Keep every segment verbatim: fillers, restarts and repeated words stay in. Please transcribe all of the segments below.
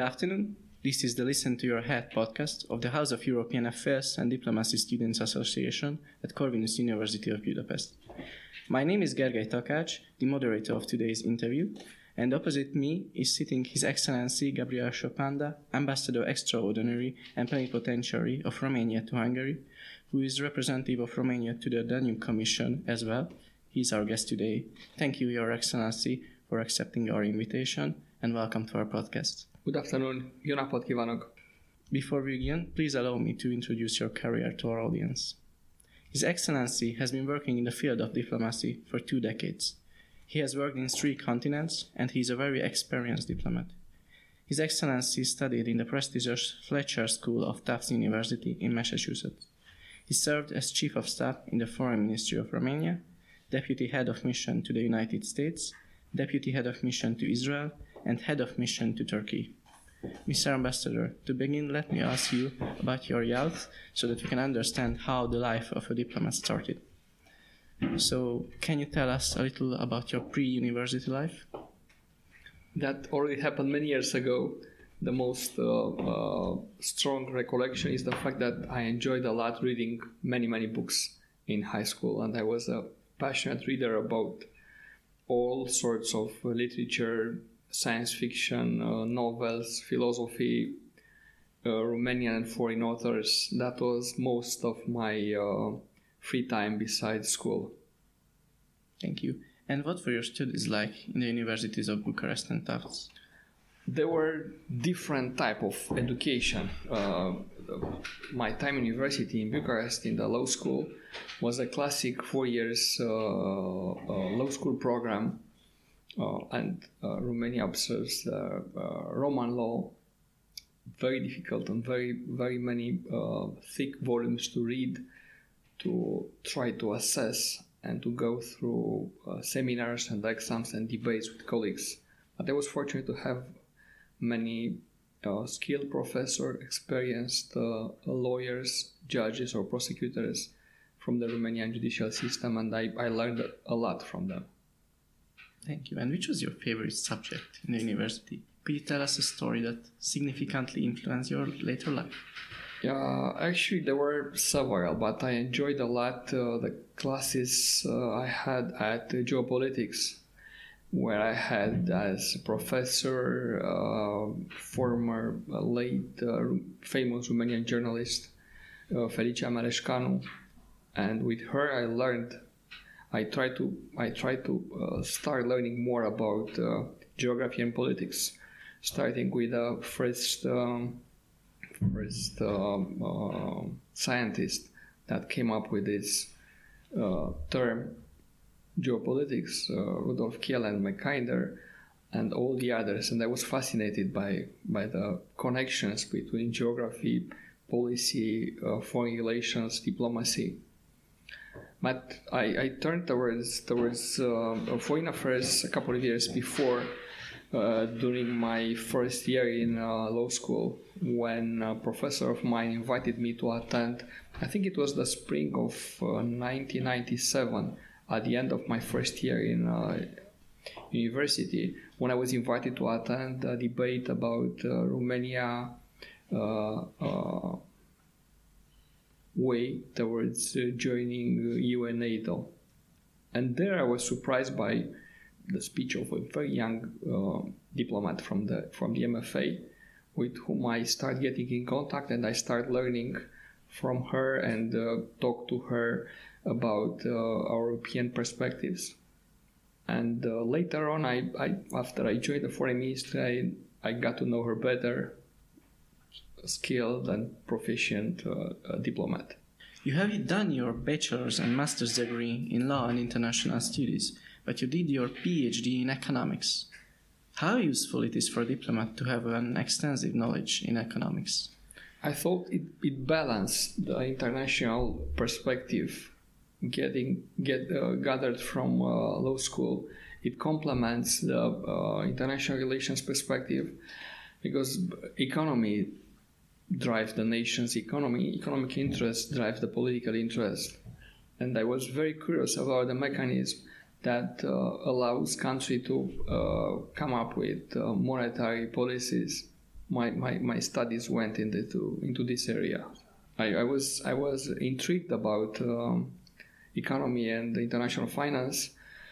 afternoon. This is the Listen to Your Head podcast of the House of European Affairs and Diplomacy Students Association at Corvinus University of Budapest. My name is Gergely Takács, the moderator of today's interview, and opposite me is sitting His Excellency Gabriel Sopanda, Ambassador Extraordinary and Plenipotentiary of Romania to Hungary, who is representative of Romania to the Danube Commission as well. He is our guest today. Thank you, Your Excellency, for accepting our invitation, and welcome to our podcast. Good afternoon. Jó napot kívánok. Before we begin, please allow me to introduce your career to our audience. His Excellency has been working in the field of diplomacy for two decades. He has worked in three continents, and he is a very experienced diplomat. His Excellency studied in the prestigious Fletcher School of Tufts University in Massachusetts. He served as Chief of Staff in the Foreign Ministry of Romania, Deputy Head of Mission to the United States, Deputy Head of Mission to Israel, and Head of Mission to Turkey. Mister Ambassador, to begin, let me ask you about your youth so that we can understand how the life of a diplomat started. So, can you tell us a little about your pre-university life? That already happened many years ago. The most uh, uh, strong recollection is the fact that I enjoyed a lot reading many, many books in high school, and I was a passionate reader about all sorts of literature, science fiction, uh, novels, philosophy, uh, Romanian and foreign authors. That was most of my uh, free time besides school. Thank you. And what were your studies like in the universities of Bucharest and Tufts? There were different type of education. Uh, my time in university in Bucharest in the law school was a classic four years uh, uh, law school program, uh, and uh, Romania observes uh, uh, Roman law, very difficult and very very many uh, thick volumes to read, to try to assess and to go through uh, seminars and exams and debates with colleagues. But I was fortunate to have many uh, skilled professors, experienced uh, lawyers, judges or prosecutors from the Romanian judicial system, and I, I learned a lot from them. Thank you. And which was your favorite subject in the university? Could you tell us a story that significantly influenced your later life? Yeah, actually there were several, but I enjoyed a lot uh, the classes uh, I had at uh, geopolitics, where I had as a professor, uh, former uh, late uh, famous Romanian journalist, uh, Felicia Mareșcanu, and with her I learned, I tried to, I tried to uh, start learning more about uh, geography and politics, starting with the first, um, first um, uh, scientist that came up with this uh, term, geopolitics, uh, Rudolf Kiel and Mackinder, and all the others, and I was fascinated by by the connections between geography, policy, uh, foreign relations, diplomacy. But I, I turned towards towards uh, foreign affairs a couple of years before, uh, during my first year in uh, law school, when a professor of mine invited me to attend. I think it was the spring of uh, nineteen ninety-seven. At the end of my first year in uh, university, when I was invited to attend a debate about uh, Romania uh, uh, way towards uh, joining E U and NATO. And there I was surprised by the speech of a very young uh, diplomat from the from the M F A, with whom I started getting in contact, and I started learning from her and uh, talk to her about uh, our European perspectives. And uh, later on, I, I after I joined the foreign ministry, I, I got to know her better, skilled and proficient uh, uh, diplomat. You have done your bachelor's and master's degree in law and international studies, but you did your PhD in economics. How useful it is for a diplomat to have an extensive knowledge in economics? I thought it, it balanced the international perspective getting get uh, gathered from uh, law school. It complements the uh, international relations perspective, because economy drives the nation's economy, economic interest drives the political interest. And I was very curious about the mechanism that uh, allows country to uh, come up with uh, monetary policies my, my, my studies went into into this area. I, I was I was intrigued about um, economy and international finance.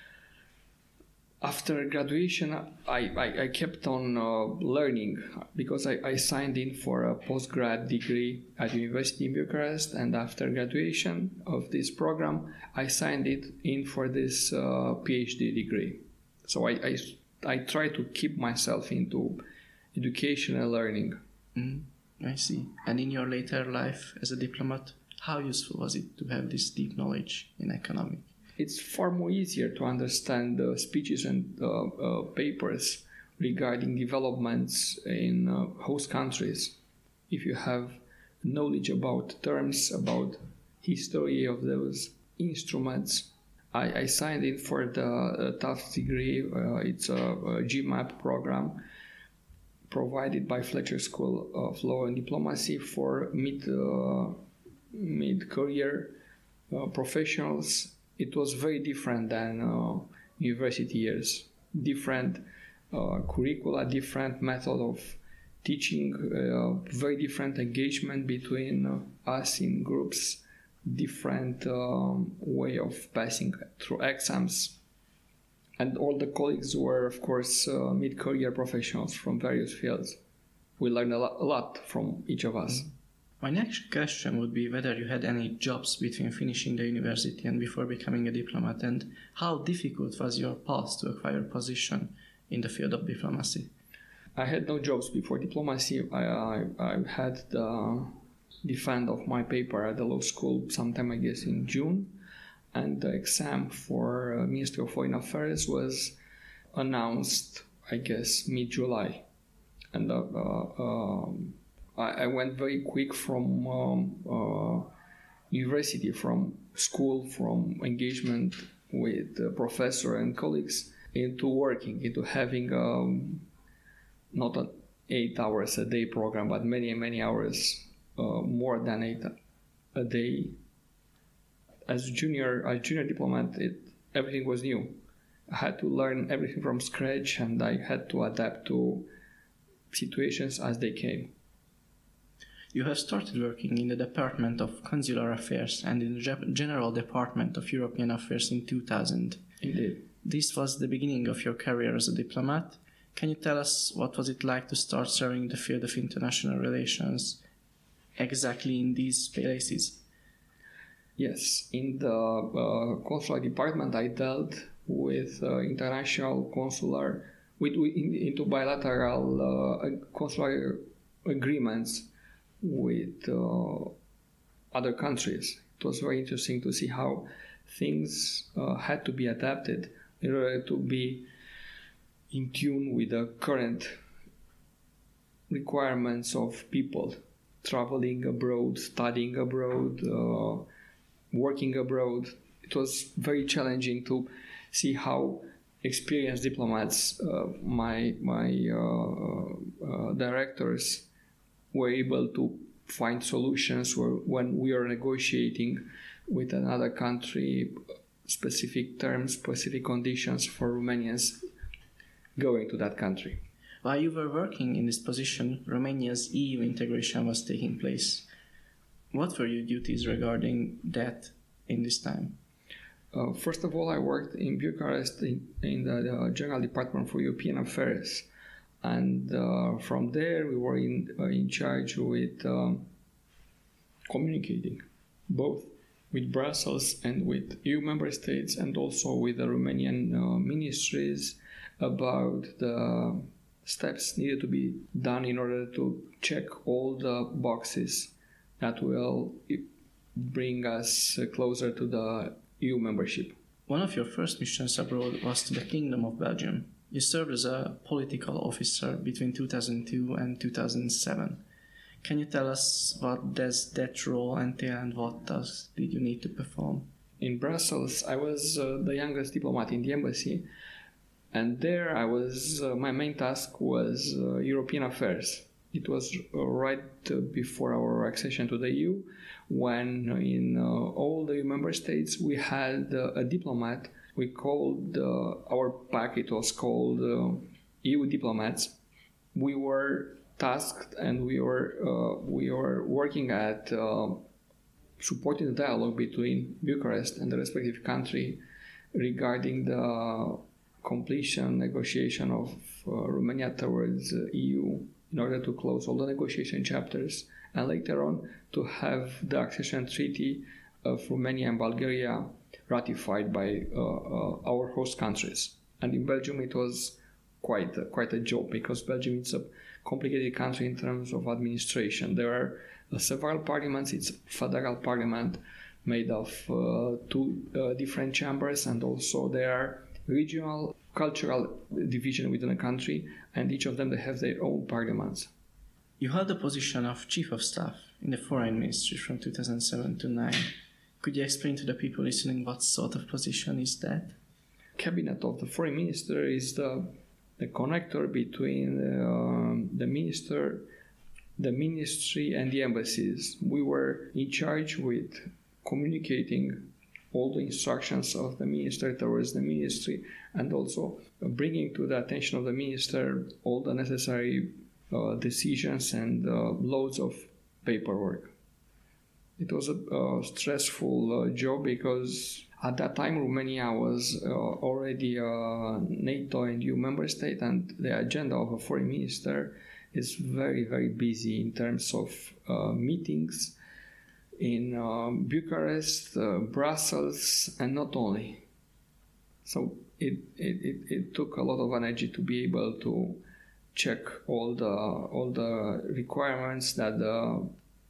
After graduation, I, I, I kept on uh, learning because I, I signed in for a postgrad degree at University in Bucharest, and after graduation of this program, I signed it in for this uh, PhD degree. So I, I, I try to keep myself into education and learning. Mm, I see. And in your later life as a diplomat, how useful was it to have this deep knowledge in economics? It's far more easier to understand the speeches and uh, uh, papers regarding developments in uh, host countries if you have knowledge about terms, about history of those instruments. I, I signed in for the uh, Tufts degree. Uh, it's a, a GMAP program provided by Fletcher School of Law and Diplomacy for mid uh, mid-career uh, professionals. It was very different than uh, university years. Different uh, curricula, different method of teaching, uh, very different engagement between uh, us in groups, different um, way of passing through exams. And all the colleagues were, of course, uh, mid-career professionals from various fields. We learned a lot, a lot from each of us. Mm-hmm. My next question would be whether you had any jobs between finishing the university and before becoming a diplomat, and how difficult was your path to acquire a position in the field of diplomacy? I had no jobs before diplomacy. I, I, I had the defense of my paper at the law school sometime, I guess, in June, and the exam for uh, Ministry of Foreign Affairs was announced, I guess, mid-July. And uh, uh, um, I went very quick from um, uh, university, from school, from engagement with the professor and colleagues into working, into having um, not an eight hours a day program, but many, many hours, uh, more than eight a day. As junior, as junior diplomat, it, everything was new. I had to learn everything from scratch, and I had to adapt to situations as they came. You have started working in the Department of Consular Affairs and in the General Department of European Affairs in two thousand. Indeed. This was the beginning of your career as a diplomat. Can you tell us what was it like to start serving the field of international relations exactly in these places? Yes, in the uh, consular department I dealt with uh, international consular, with, with in, into bilateral uh, consular agreements with uh, other countries. It was very interesting to see how things uh, had to be adapted in order to be in tune with the current requirements of people traveling abroad, studying abroad, uh, working abroad. It was very challenging to see how experienced diplomats, uh, my my uh, uh, directors, were able to find solutions where, when we are negotiating with another country specific terms, specific conditions for Romanians going to that country. While you were working in this position, Romania's E U integration was taking place. What were your duties regarding that in this time? Uh, first of all, I worked in Bucharest in, in the, the General Department for European Affairs. And uh, from there, we were in, uh, in charge with um, communicating both with Brussels and with E U member states, and also with the Romanian uh, ministries about the steps needed to be done in order to check all the boxes that will bring us closer to the E U membership. One of your first missions abroad was to the Kingdom of Belgium. You served as a political officer between two thousand two and two thousand seven. Can you tell us what does that role entail and what tasks did you need to perform? In Brussels, I was uh, the youngest diplomat in the embassy, and there I was. Uh, my main task was uh, European affairs. It was uh, right uh, before our accession to the E U, when in uh, all the member states we had uh, a diplomat. We called uh, our pack. It was called uh, E U diplomats. We were tasked, and we were uh, we were working at uh, supporting the dialogue between Bucharest and the respective country regarding the completion negotiation of uh, Romania towards uh, E U in order to close all the negotiation chapters, and later on to have the accession treaty of Romania and Bulgaria ratified by uh, uh, our host countries. And in Belgium it was quite a, quite a job, because Belgium is a complicated country in terms of administration. There are uh, several parliaments. It's a federal parliament made of uh, two uh, different chambers, and also there are regional cultural division within a country, and each of them they have their own parliaments. You held the position of Chief of Staff in the Foreign Ministry from two thousand seven to nine. Could you explain to the people listening what sort of position is that? Cabinet of the Foreign Minister is the, the connector between uh, the minister, the ministry, and the embassies. We were in charge with communicating all the instructions of the minister towards the ministry, and also bringing to the attention of the minister all the necessary uh, decisions and uh, loads of paperwork. It was a uh, stressful uh, job, because at that time Romania was uh, already a NATO and E U member state, and the agenda of a foreign minister is very, very busy in terms of uh, meetings in uh, Bucharest, uh, Brussels, and not only. So it, it, it, it took a lot of energy to be able to check all the all the requirements that the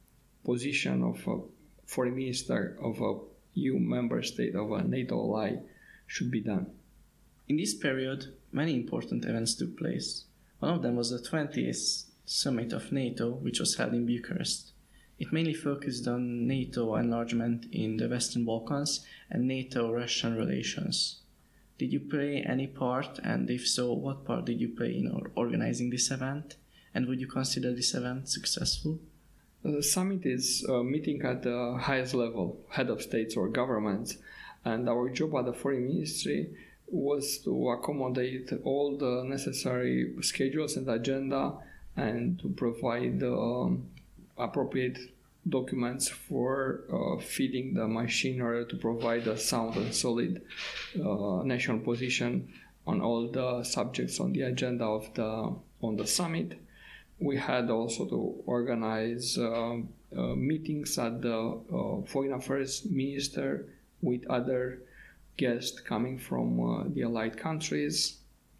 position of a foreign minister of a E U member state of a NATO ally should be done. In this period, many important events took place. One of them was the twentieth summit of NATO, which was held in Bucharest. It mainly focused on NATO enlargement in the Western Balkans and NATO-Russian relations. Did you play any part, and if so, what part did you play in organizing this event? And would you consider this event successful? The summit is a meeting at the highest level, head of states or governments, and our job at the foreign ministry was to accommodate all the necessary schedules and agenda, and to provide um, appropriate documents for uh, feeding the machine in order to provide a sound and solid uh, national position on all the subjects on the agenda of the on the summit. We had also to organize uh, uh, meetings at the uh, Foreign Affairs Minister with other guests coming from uh, the allied countries.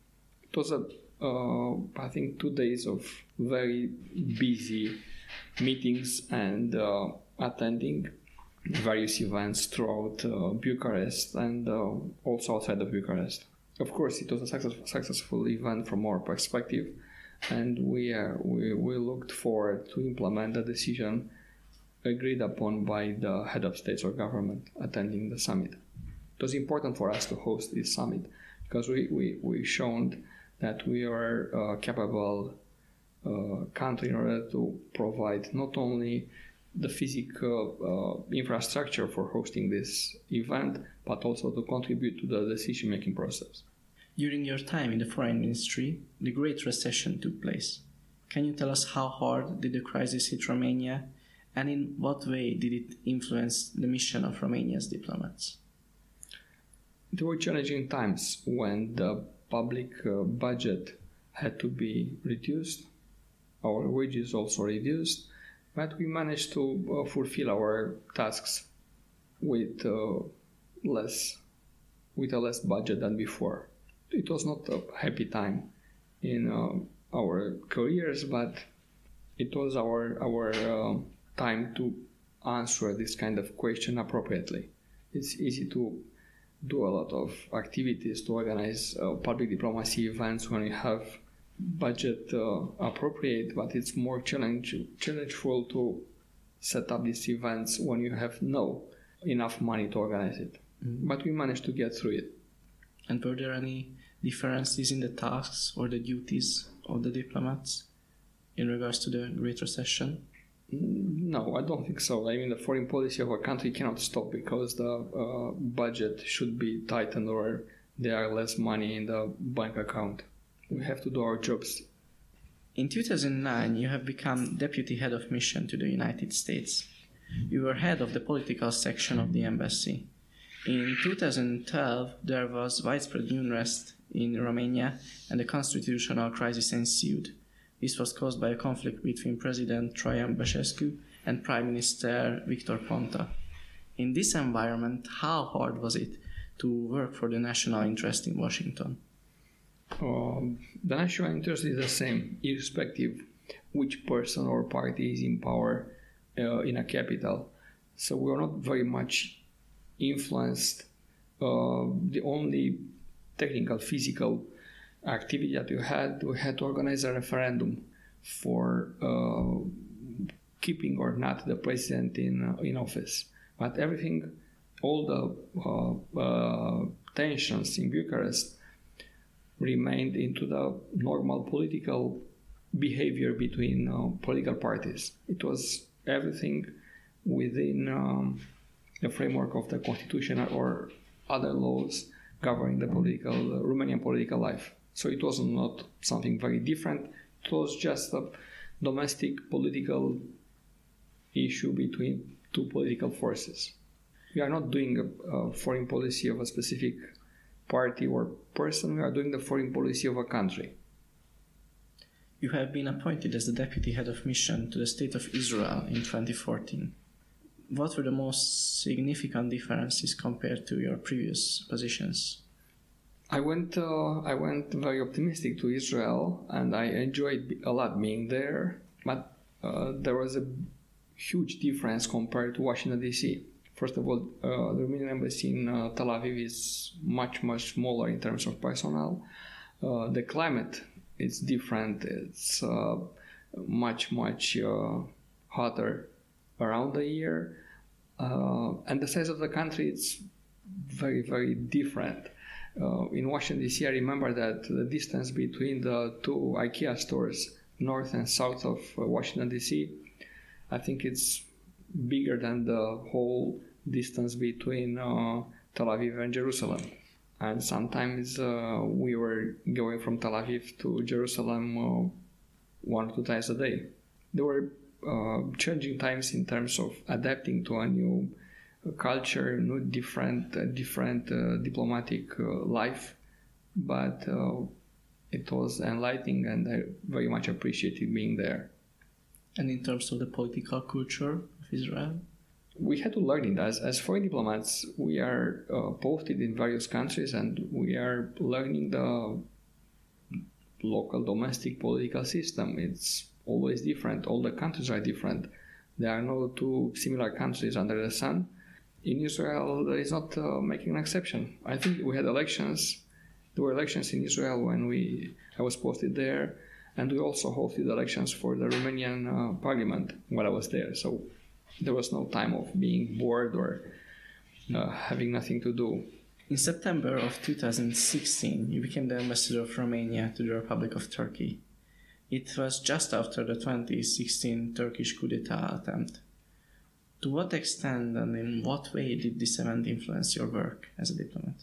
It was a, uh, I think, two days of very busy meetings and uh, attending various events throughout uh, Bucharest and uh, also outside of Bucharest. Of course, it was a success, successful event from our perspective, and we, uh, we we looked forward to implement the decision agreed upon by the head of states or government attending the summit. It was important for us to host this summit, because we, we, we shown that we are a capable uh, country in order to provide not only the physical uh, infrastructure for hosting this event, but also to contribute to the decision-making process. During your time in the Foreign Ministry, the Great Recession took place. Can you tell us how hard did the crisis hit Romania, and in what way did it influence the mission of Romania's diplomats? There were challenging times when the public uh, budget had to be reduced, our wages also reduced, but we managed to uh, fulfill our tasks with uh, less, with a less budget than before. It was not a happy time in uh, our careers, but it was our our uh, time to answer this kind of question appropriately. It's easy to do a lot of activities to organize uh, public diplomacy events when you have budget uh, appropriate, but it's more challenge challengeful to set up these events when you have no enough money to organize it. Mm-hmm. But we managed to get through it. And were there any differences in the tasks or the duties of the diplomats in regards to the Great Recession? No, I don't think so. I mean, the foreign policy of a country cannot stop because the uh, budget should be tightened or there are less money in the bank account. We have to do our jobs. In two thousand nine, you have become deputy head of mission to the United States. You were head of the political section of the embassy. In two thousand twelve, there was widespread unrest in Romania and a constitutional crisis ensued. This was caused by a conflict between President Traian Băsescu and Prime Minister Victor Ponta. In this environment, how hard was it to work for the national interest in Washington? Um, the national interest is the same, irrespective which person or party is in power uh, in a capital. So we are not very much influenced. Uh, the only technical, physical activity that we had, we had to organize a referendum for uh, keeping or not the president in uh, in office. But everything, all the uh, uh, tensions in Bucharest remained into the normal political behavior between uh, political parties. It was everything within um, the framework of the constitution or other laws governing the political uh, Romanian political life. So it was not something very different. It was just a domestic political issue between two political forces. We are not doing a, a foreign policy of a specific party or person. We are doing the foreign policy of a country. You have been appointed as the deputy head of mission to the state of Israel in twenty fourteen. What were the most significant differences compared to your previous positions? I went uh, I went very optimistic to Israel, and I enjoyed a lot being there, but uh, there was a huge difference compared to Washington, D C. First of all, uh, the Romanian embassy in uh, Tel Aviv is much, much smaller in terms of personnel. Uh, the climate is different. It's uh, much, much uh, hotter around the year. Uh, and the size of the country is very, very different. Uh, in Washington, D C, I remember that the distance between the two IKEA stores, north and south of uh, Washington, D C, I think it's bigger than the whole distance between uh, Tel Aviv and Jerusalem. And sometimes uh, we were going from Tel Aviv to Jerusalem uh, one or two times a day. There were uh, changing times in terms of adapting to a new culture, new different, uh, different uh, diplomatic uh, life, but uh, it was enlightening, and I very much appreciated being there. And in terms of the political culture of Israel? We had to learn it. As, as foreign diplomats, we are uh, posted in various countries, and we are learning the local domestic political system. It's always different. All the countries are different. There are no two similar countries under the sun. In Israel, there is not uh, making an exception. I think we had elections. There were elections in Israel when we I was posted there, and we also hosted elections for the Romanian uh, parliament while I was there. So there was no time of being bored or uh, having nothing to do. In September of two thousand sixteen, you became the ambassador of Romania to the Republic of Turkey. It was just after the twenty sixteen Turkish coup d'etat attempt. To what extent and in what way did this event influence your work as a diplomat?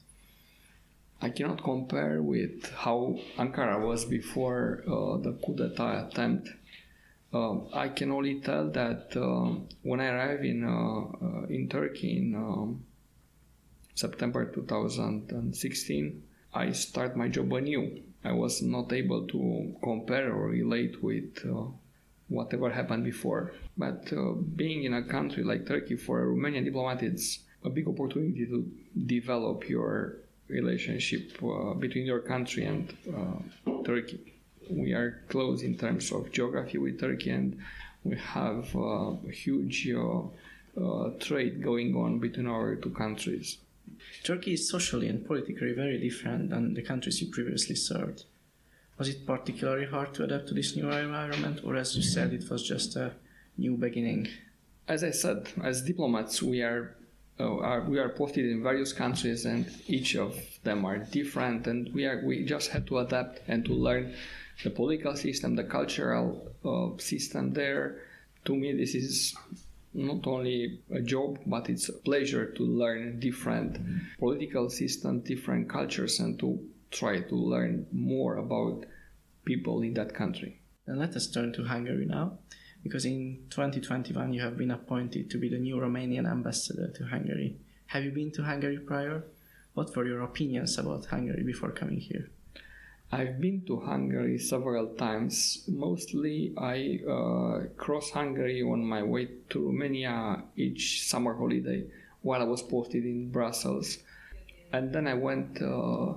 I cannot compare with how Ankara was before uh, the coup d'etat attempt. Uh, I can only tell that uh, when I arrived in uh, uh, in Turkey in um, September two thousand sixteen, I start my job anew. I was not able to compare or relate with uh, whatever happened before. But uh, being in a country like Turkey for a Romanian diplomat, it's a big opportunity to develop your relationship uh, between your country and uh, Turkey. We are close in terms of geography with Turkey, and we have uh, a huge uh, uh, trade going on between our two countries. Turkey is socially and politically very different than the countries you previously served. Was it particularly hard to adapt to this new environment, or as you said, it was just a new beginning? As I said, as diplomats, we are, uh, are we are posted in various countries, and each of them are different, and we are we just had to adapt and to learn the political system, the cultural uh, system there. To me, this is not only a job, but it's a pleasure to learn different mm-hmm. political systems, different cultures, and to try to learn more about people in that country. And let us turn to Hungary now, because in twenty twenty-one you have been appointed to be the new Romanian ambassador to Hungary. Have you been to Hungary prior? What were your opinions about Hungary before coming here? I've been to Hungary several times. Mostly I uh, cross Hungary on my way to Romania each summer holiday while I was posted in Brussels. And then I went uh,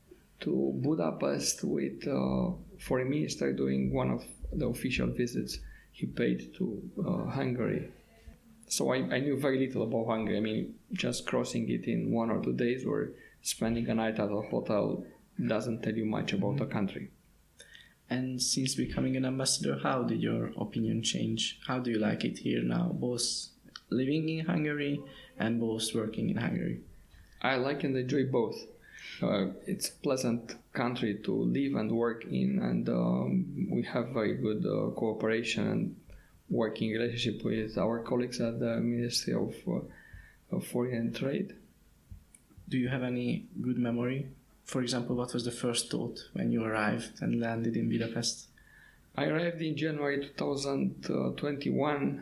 to Budapest with uh, foreign minister doing one of the official visits he paid to uh, Hungary. So I, I knew very little about Hungary. I mean, just crossing it in one or two days or spending a night at a hotel doesn't tell you much about the country. And since becoming an ambassador, how did your opinion change? How do you like it here now, both living in Hungary and both working in Hungary? I like and enjoy both. Uh, it's a pleasant country to live and work in, and um, we have very good uh, cooperation and working relationship with our colleagues at the Ministry of, uh, of Foreign Trade. Do you have any good memory? For example, what was the first thought when you arrived and landed in Budapest? I arrived in January twenty twenty-one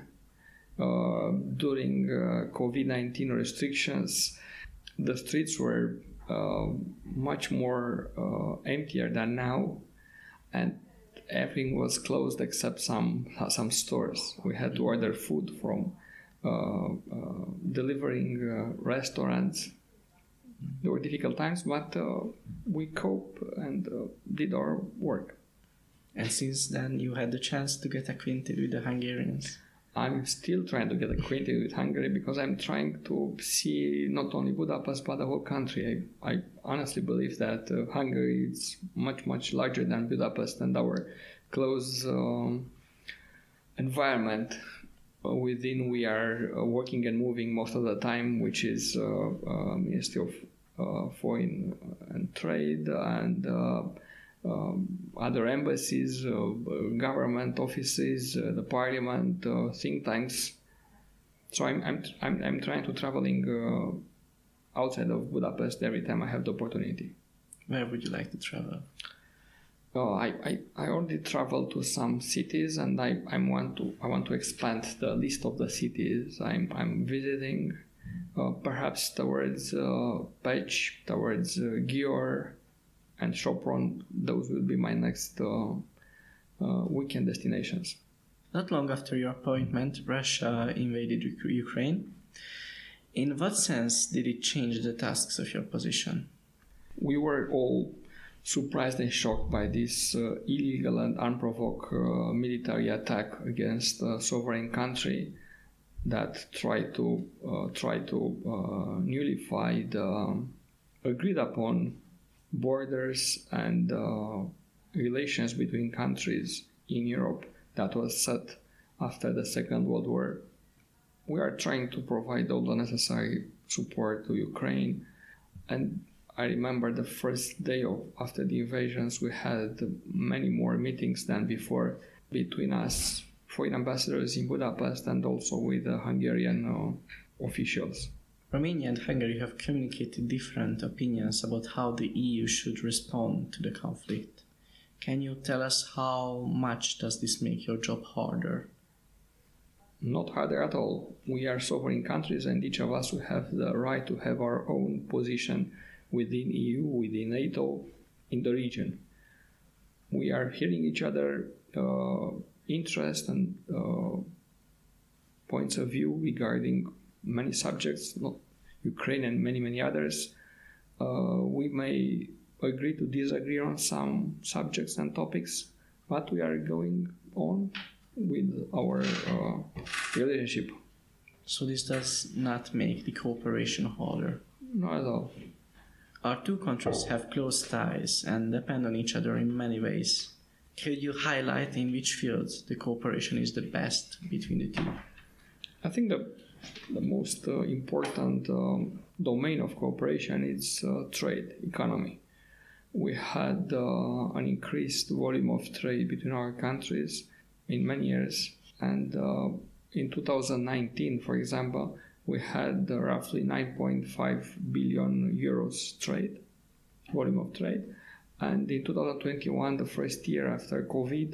uh, during uh, covid nineteen restrictions. The streets were uh, much more uh, emptier than now, and everything was closed except some some stores. We had to order food from uh, uh, delivering uh, restaurants. There were difficult times, but uh, we cope and uh, did our work. And since then, you had the chance to get acquainted with the Hungarians. I'm still trying to get acquainted with Hungary because I'm trying to see not only Budapest but the whole country. I, I honestly believe that uh, Hungary is much, much larger than Budapest, and our close um, environment within we are uh, working and moving most of the time, which is uh, uh, Ministry of uh, Foreign and Trade and uh, um, other embassies, uh, government offices, uh, the parliament, uh, think tanks. So I'm I'm I'm, I'm trying to traveling uh, outside of Budapest every time I have the opportunity. Where would you like to travel? Oh, I, I, I already traveled to some cities, and I, I want to I want to expand the list of the cities I'm I'm visiting, uh, perhaps towards uh, Pécs, towards uh, Győr, and Sopron. Those will be my next uh, uh, weekend destinations. Not long after your appointment, Russia invaded Ukraine. In what sense did it change the tasks of your position? We were all surprised and shocked by this uh, illegal and unprovoked uh, military attack against a sovereign country that tried to uh, try to uh, nullify the agreed upon borders and uh, relations between countries in Europe that was set after the Second World War. We are trying to provide all the necessary support to Ukraine, and I remember the first day of after the invasions, we had many more meetings than before between us, foreign ambassadors in Budapest, and also with the Hungarian uh, officials. Romania and Hungary have communicated different opinions about how the E U should respond to the conflict. Can you tell us how much does this make your job harder? Not harder at all. We are sovereign countries, and each of us will have the right to have our own position within E U, within NATO, in the region. We are hearing each other uh, interest and uh, points of view regarding many subjects, not Ukraine and many, many others. Uh, we may agree to disagree on some subjects and topics, but we are going on with our uh, relationship. So this does not make the cooperation harder? Not at all. Our two countries have close ties and depend on each other in many ways. Could you highlight in which fields the cooperation is the best between the two? I think the, the most uh, important um, domain of cooperation is uh, trade, economy. We had uh, an increased volume of trade between our countries in many years, and uh, in two thousand nineteen, for example, we had uh, roughly nine point five billion euros trade, volume of trade. And in two thousand twenty-one, the first year after COVID,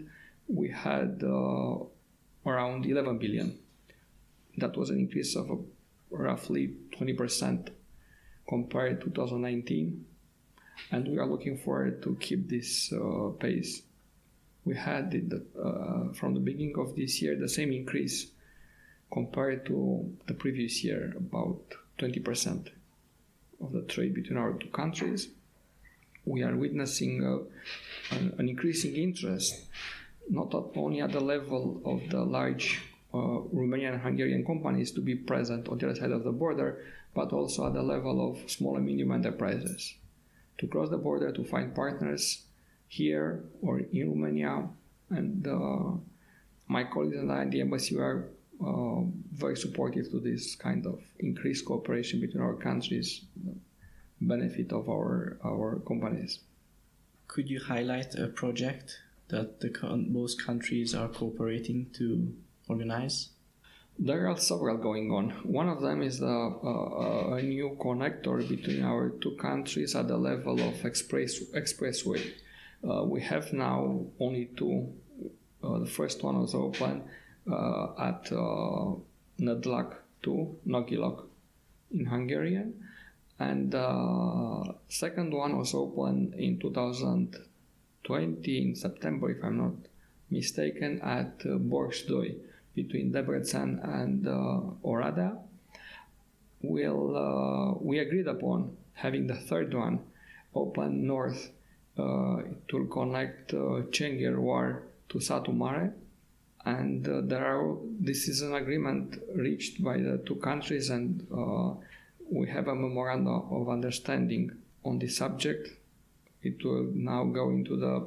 we had uh, around eleven billion. That was an increase of uh, roughly twenty percent compared to twenty nineteen, and we are looking forward to keep this uh, pace. We had in the, uh, from the beginning of this year the same increase compared to the previous year, about twenty percent of the trade between our two countries. We are witnessing uh, an, an increasing interest, not only at the level of the large uh, Romanian and Hungarian companies to be present on the other side of the border, but also at the level of small and medium enterprises to cross the border to find partners here or in Romania. And uh, my colleagues and I in the embassy are uh, very supportive to this kind of increased cooperation between our countries, benefit of our, our companies. Could you highlight a project that the both countries are cooperating to organize? There are several going on. One of them is a, a, a new connector between our two countries at the level of express expressway. Uh, we have now only two. Uh, the first one was open uh, at uh, Nădlac to Nagyilok in Hungarian, and uh, second one was open in two thousand twenty in September, if I'm not mistaken, at uh, Borsdoi between Debrecen and uh, Oradea. We'll, uh, we agreed upon having the third one open north. Uh, it will connect uh, Cenghervar to Satu Mare, and uh, there are. This is an agreement reached by the two countries, and uh, we have a memorandum of understanding on this subject. It will now go into the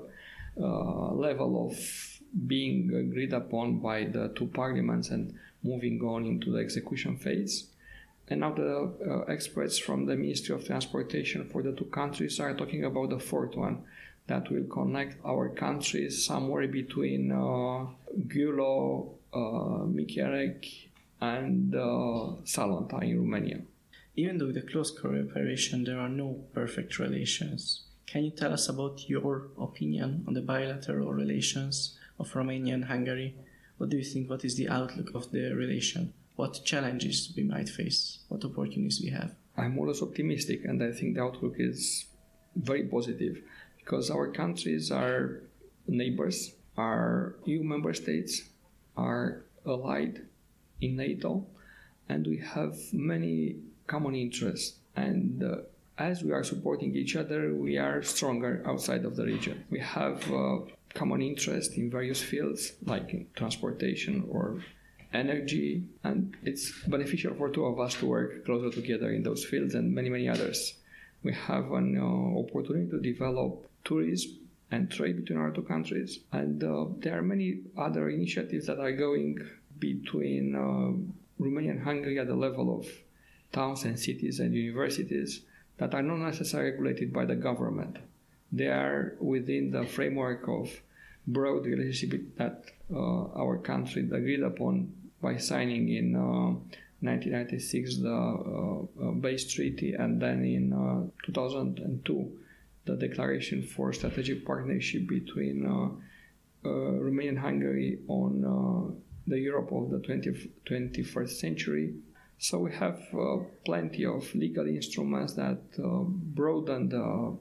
uh, level of being agreed upon by the two parliaments and moving on into the execution phase. And now the uh, experts from the Ministry of Transportation for the two countries are talking about the fourth one that will connect our countries somewhere between uh, Gyula, uh, Mikirec, and uh, Salonta in Romania. Even though with the close cooperation there are no perfect relations, can you tell us about your opinion on the bilateral relations of Romania and Hungary? What do you think? What is the outlook of the relation? What challenges we might face? What opportunities we have? I'm always optimistic, and I think the outlook is very positive because our countries are neighbors, are E U member states, are allied in NATO, and we have many common interests. And uh, as we are supporting each other, we are stronger outside of the region. We have uh, common interest in various fields like in transportation or energy, and it's beneficial for two of us to work closer together in those fields and many, many others. We have an uh, opportunity to develop tourism and trade between our two countries, and uh, there are many other initiatives that are going between uh, Romania and Hungary at the level of towns and cities and universities that are not necessarily regulated by the government. They are within the framework of broad relationship that uh, our country agreed upon by signing in uh, nineteen ninety-six the uh, uh, base treaty, and then in uh, two thousand two the declaration for strategic partnership between uh, uh, Romania and Hungary on uh, the Europe of the twentieth, twenty-first century. So we have uh, plenty of legal instruments that uh, broaden the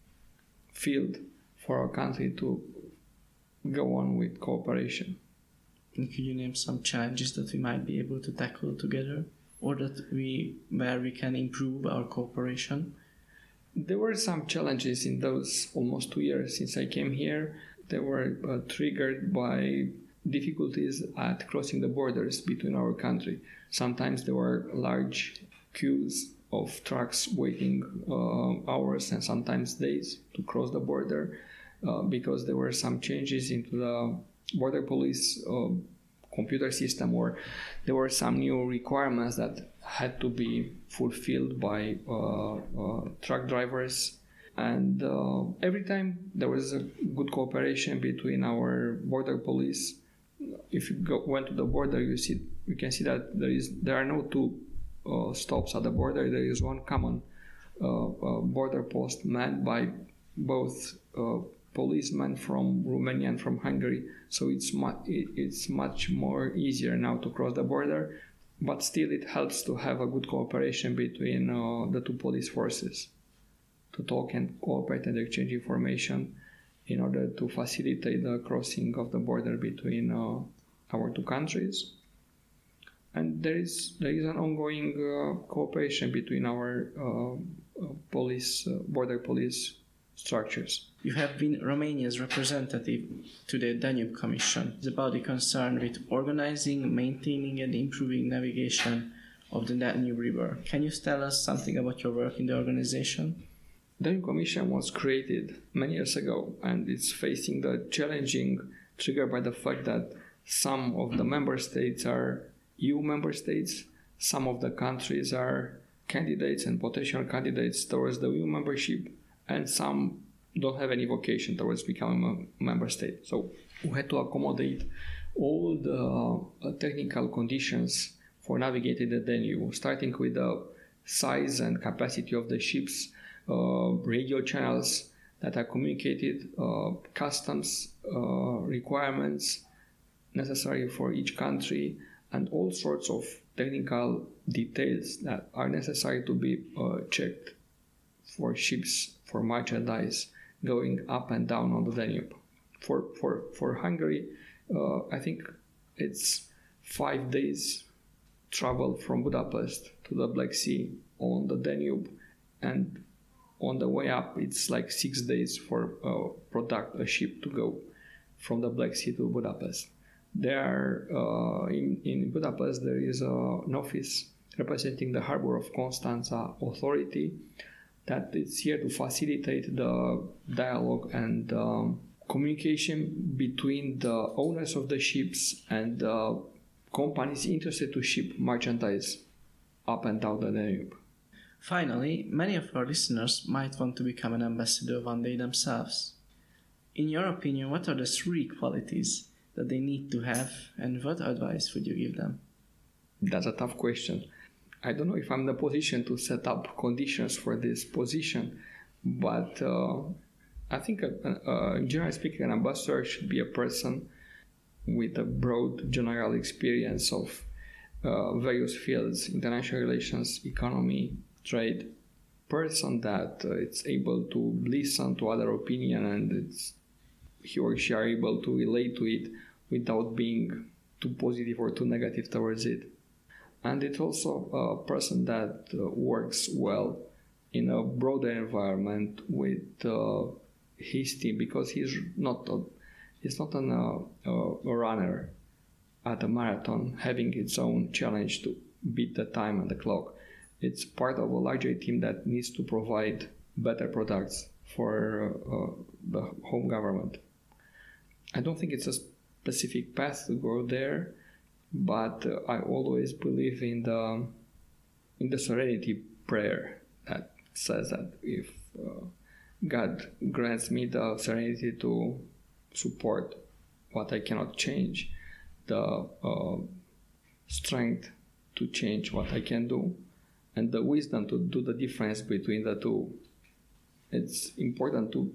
field for our country to go on with cooperation. And could you name some challenges that we might be able to tackle together, or that we where we can improve our cooperation? There were some challenges in those almost two years since I came here. They were uh, triggered by difficulties at crossing the borders between our country. Sometimes there were large queues of trucks waiting uh, hours and sometimes days to cross the border uh, because there were some changes into the border police uh, computer system, or there were some new requirements that had to be fulfilled by uh, uh, truck drivers. And uh, every time there was a good cooperation between our border police. If you go, went to the border, you see you can see that there is there are no two uh, stops at the border. There is one common uh, uh, border post manned by both uh, policemen from Romania and from Hungary. So it's mu- it's much more easier now to cross the border, but still it helps to have a good cooperation between uh, the two police forces, to talk and cooperate and exchange information in order to facilitate the crossing of the border between uh, our two countries. And there is there is an ongoing uh, cooperation between our uh, uh, police, uh, border police structures. You have been Romania's representative to the Danube Commission. It's about the concern with organizing, maintaining and improving navigation of the Danube River. Can you tell us something about your work in the organization? The Danube Commission was created many years ago, and it's facing the challenging triggered by the fact that some of the member states are E U member states, some of the countries are candidates and potential candidates towards the E U membership, and some don't have any vocation towards becoming a member state. So we had to accommodate all the uh, technical conditions for navigating the Danube, starting with the size and capacity of the ships, uh, radio channels that are communicated, uh, customs uh, requirements necessary for each country, and all sorts of technical details that are necessary to be uh, checked for ships, for merchandise going up and down on the Danube. For for for Hungary, uh, I think it's five days travel from Budapest to the Black Sea on the Danube, and on the way up it's like six days for a product, a ship to go from the Black Sea to Budapest. There, uh, in, in Budapest, there is a, an office representing the Harbor of Constanța Authority that is here to facilitate the dialogue and um, communication between the owners of the ships and the companies interested to ship merchandise up and down the Danube. Finally, many of our listeners might want to become an ambassador one day themselves. In your opinion, what are the three qualities that they need to have, and what advice would you give them? That's a tough question. I don't know if I'm in the position to set up conditions for this position, but uh, I think, uh, uh, generally speaking, an ambassador should be a person with a broad general experience of uh, various fields: international relations, economy, trade. Person that uh, it's able to listen to other opinion, and it's he or she are able to relate to it without being too positive or too negative towards it. And it's also a person that uh, works well in a broader environment with uh, his team, because he's not a, he's not an, uh, a runner at a marathon having its own challenge to beat the time and the clock. It's part of a larger team that needs to provide better products for uh, the home government. I don't think it's a specific path to go there, but uh, I always believe in the in the serenity prayer that says that if uh, God grants me the serenity to support what I cannot change, the uh, strength to change what I can do, and the wisdom to do the difference between the two, it's important to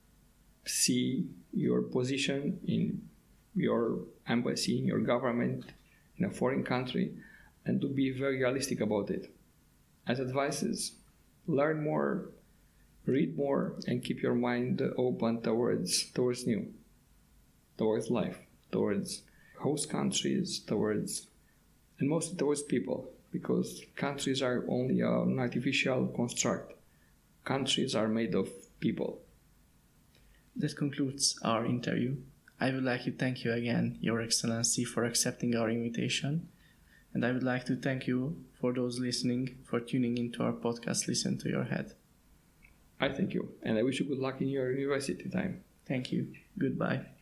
see your position in your embassy, in your government, in a foreign country, and to be very realistic about it. As advices, learn more, read more, and keep your mind open towards towards new, towards life, towards host countries, towards, and mostly towards people, because countries are only an artificial construct. Countries are made of people. That concludes our interview. I would like to thank you again, Your Excellency, for accepting our invitation. And I would like to thank you for those listening for tuning into our podcast, Listen to Your Head. I thank you, and I wish you good luck in your university time. Thank you. Goodbye.